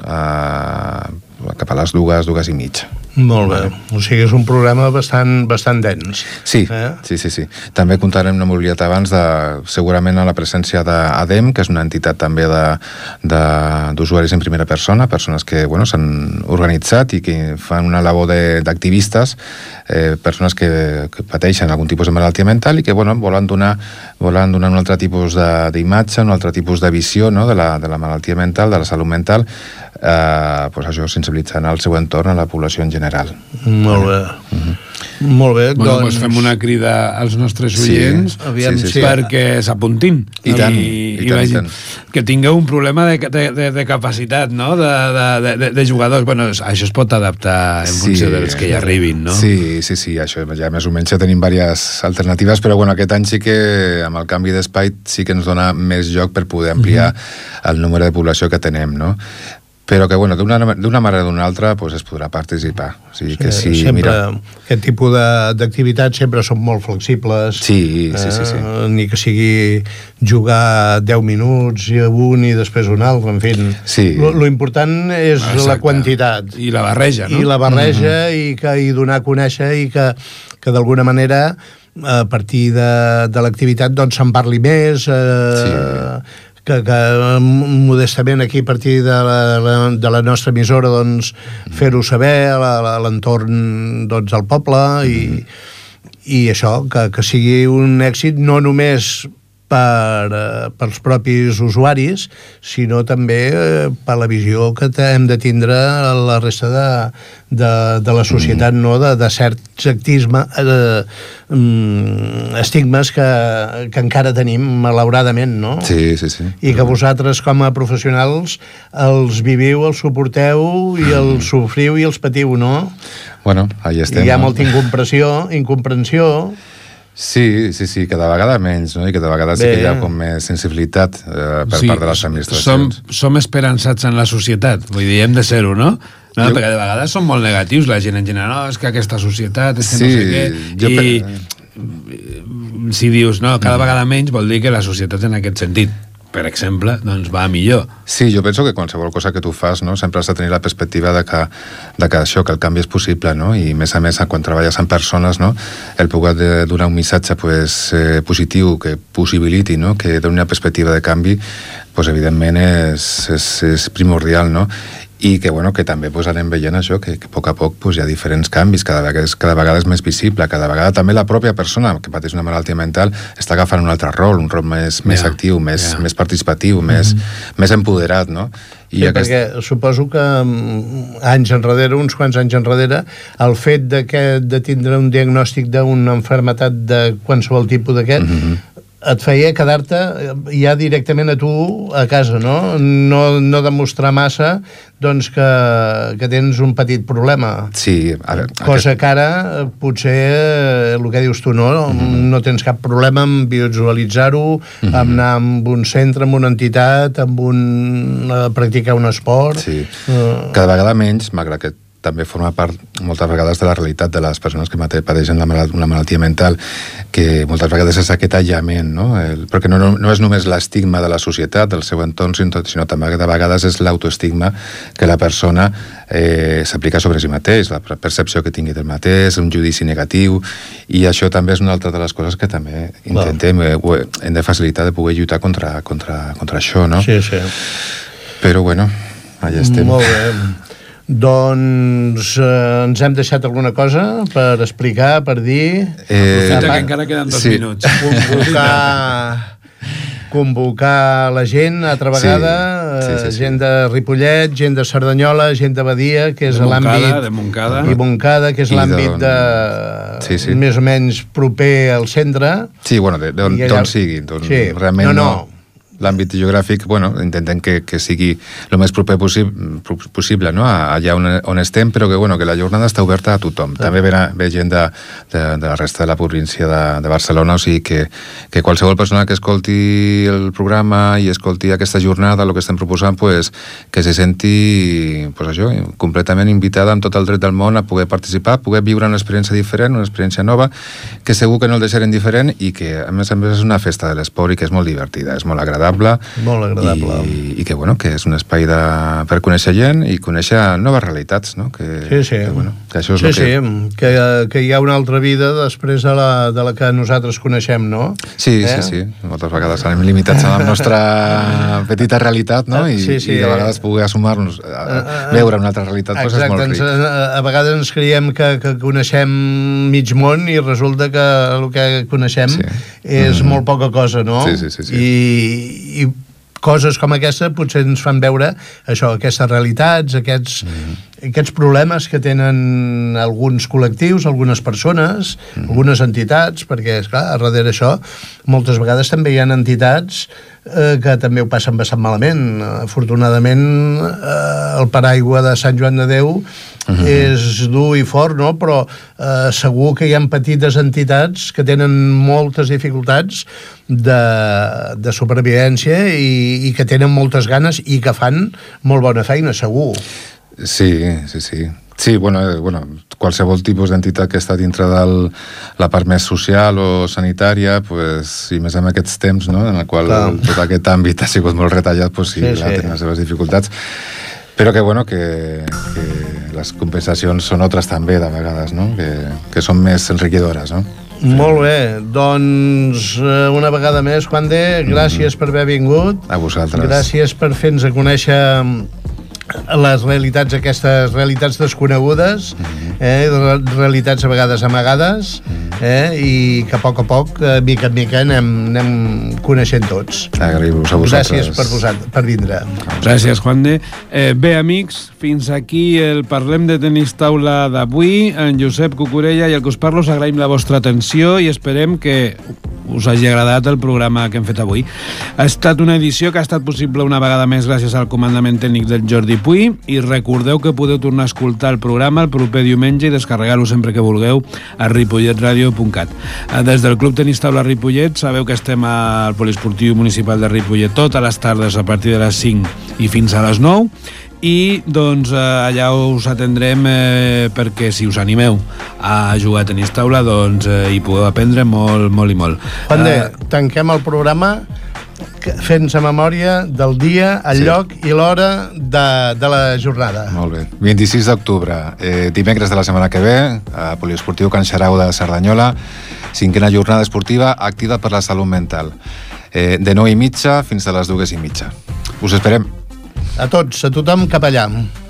cap a les 2:30. Molt bé, o sigui, és un programa bastant dens. Sí. També comptarem, no m'he oblidat abans, segurament a la presència d'ADEM, que és una entitat també d'usuaris en primera persona, persones que s'han organitzat i que fan una labor d'activistes, persones que pateixen algun tipus de malaltia mental i que volen donar un altre tipus d'imatge, un altre tipus de visió, no?, de la malaltia mental, de la salut mental, això, sensibilitzant al seu entorn, a la població en general. Molt bé. Molt bé, doncs fem una crida als nostres oients perquè s'apuntin i tant, que tingueu un problema de capacitat, no?, de jugadors. Això es pot adaptar en funció dels que hi arribin, no? Sí, això ja més o menys ja tenim diverses alternatives, però aquest any sí que amb el canvi d'espai sí que ens dona més joc per poder ampliar el número de població que tenem, no? Però que, d'una manera o d'una altra es podrà participar. O sigui que aquest tipus d'activitats sempre són molt flexibles. Sí. Ni que sigui jugar 10 minuts i un i després un altre, en fi. Sí. Lo important és la quantitat. I la barreja, no? I la barreja i donar a conèixer i que d'alguna manera a partir de l'activitat se'n parli més, que modestament aquí a partir de la nostra emissora fer-ho saber a l'entorn del poble i això, que sigui un èxit no només pels propis usuaris, sinó també per la visió que hem de tindre la resta de la societat, no?, de certs estigmes que encara tenim, malauradament, no? Sí. I que vosaltres, com a professionals, els viviu, els suporteu i els sofriu i els patiu, no? Ahí estem. I hi ha molta incomprensió. Sí, cada vegada menys, no? I cada vegada sí que hi ha com més sensibilitat per part de les administracions. Som esperançats en la societat, vull dir, hem de ser-ho, no? Perquè de vegades són molt negatius, la gent en general, és que aquesta societat, és que no sé què, i si dius, cada vegada menys, vol dir que la societat en aquest sentit, per exemple, va millor. Sí, jo penso que qualsevol cosa que tu fas, no?, sempre has de tenir la perspectiva de que això, que el canvi és possible, no?, i a més, quan treballes amb persones, no?, el poder donar un missatge positiu que possibiliti, no?, que doni una perspectiva de canvi, evidentment és primordial, no?, i que també anem veient això, que a poc hi ha diferents canvis, cada vegada és més visible, cada vegada també la pròpia persona que pateix una malaltia mental està agafant un altre rol, un rol més actiu, més participatiu, més empoderat, no? Perquè suposo que uns quants anys enrere, el fet de tindre un diagnòstic d'una malaltia de qualsevol tipus d'aquest et feia quedar-te ja directament a tu a casa, no? No demostrar massa doncs que tens un petit problema. Sí. Cosa que ara potser el que dius tu, no tens cap problema en visualitzar-ho, en anar a un centre, en una entitat, a practicar un esport. Sí. Cada vegada menys, malgrat que també forma part moltes vegades de la realitat de les persones que pateixen una malaltia mental, que moltes vegades és aquest aïllament, no? Perquè no és només l'estigma de la societat, del seu entorn, sinó també de vegades és l'autoestigma que la persona s'aplica sobre si mateix, la percepció que tingui del mateix, un judici negatiu, i això també és una altra de les coses que també intentem, hem de facilitar de poder lluitar contra això, no? Sí, sí. Però bueno, allà estem. Molt bé. Doncs ens hem deixat alguna cosa per explicar, per dir... Aprofita que encara queden 2 minuts. Convocar la gent altra vegada, gent de Ripollet, gent de Cerdanyola, gent de Badia, que és l'àmbit... De Montcada. I Montcada, que és l'àmbit de més o menys proper al centre. Sí, bueno, d'on sigui. Realment no... L'àmbit geogràfic, intentem que sigui el més proper possible, no? Allà on estem, però que la jornada està oberta a tothom. També ve gent de la resta de la província de Barcelona, o sigui que qualsevol persona que escolti el programa i escolti aquesta jornada, el que estem proposant, que se senti completament invitada amb tot el dret del món a poder participar, poder viure una experiència diferent, una experiència nova, que segur que no el deixarem diferent i que, a més és una festa de l'esport i que és molt divertida, és molt agradable. Molt agradable. I que és un espai per conèixer gent i conèixer noves realitats, no? Que això és que hi ha una altra vida després de la que nosaltres coneixem, no? Sí. Moltes vegades anem limitats a la nostra petita realitat, no? I de vegades poder assumar-nos a veure una altra realitat és molt ric. A vegades ens creiem que coneixem mig món i resulta que el que coneixem és molt poca cosa, no? Sí. I coses com aquesta potser ens fan veure aquestes realitats, aquests problemes que tenen alguns col·lectius, algunes persones, algunes entitats, perquè, esclar, a darrere això moltes vegades també hi ha entitats que també ho passen bastant malament. Afortunadament, el paraigua de Sant Joan de Déu és dur i fort, no? Però segur que hi ha petites entitats que tenen moltes dificultats de supervivència i que tenen moltes ganes i que fan molt bona feina, segur. Sí. Sí, qualsevol tipus d'entitat que està dintre de la part més social o sanitària, i més en aquests temps, no?, en el qual tot aquest àmbit ha sigut molt retallat, tenen les seves dificultats. Però que les compensacions són altres també, de vegades, no?, que són més enriquidores, no? Molt bé, doncs una vegada més, Juan de, gràcies per haver vingut. A vosaltres. Gràcies per fer-nos a conèixer les realitats, aquestes realitats desconegudes, realitats a vegades amagades, i que a poc, mica en mica, anem coneixent tots. Agraïu-vos a vosaltres. Gràcies per vindre. Gràcies, Juan de. Bé, amics, fins aquí el Parlem de Tenis Taula d'avui. En Josep Cucurella i el que us parlo, us agraïm la vostra atenció i esperem que us hagi agradat el programa que hem fet avui. Ha estat una edició que ha estat possible una vegada més gràcies al comandament tècnic del Jordi Puy, i recordeu que podeu tornar a escoltar el programa el proper diumenge i descarregar-lo sempre que vulgueu a ripolletradio.cat. Des del Club Tenis Taula Ripollet sabeu que estem al Poliesportiu Municipal de Ripollet totes les tardes a partir de les 5 i fins a les 9, i doncs allà us atendrem perquè si us animeu a jugar a tenis taula doncs hi podeu aprendre molt, molt i molt. Juan de, tanquem el programa fent-se memòria del dia, el lloc i l'hora de la jornada. Molt bé. 26 d'octubre, dimecres de la setmana que ve, a Poliesportiu Can Xarau de Cerdanyola, 5a jornada esportiva activa per la salut mental. De 9:30 fins a les 2:30. Us esperem. A tots, a tothom cap allà.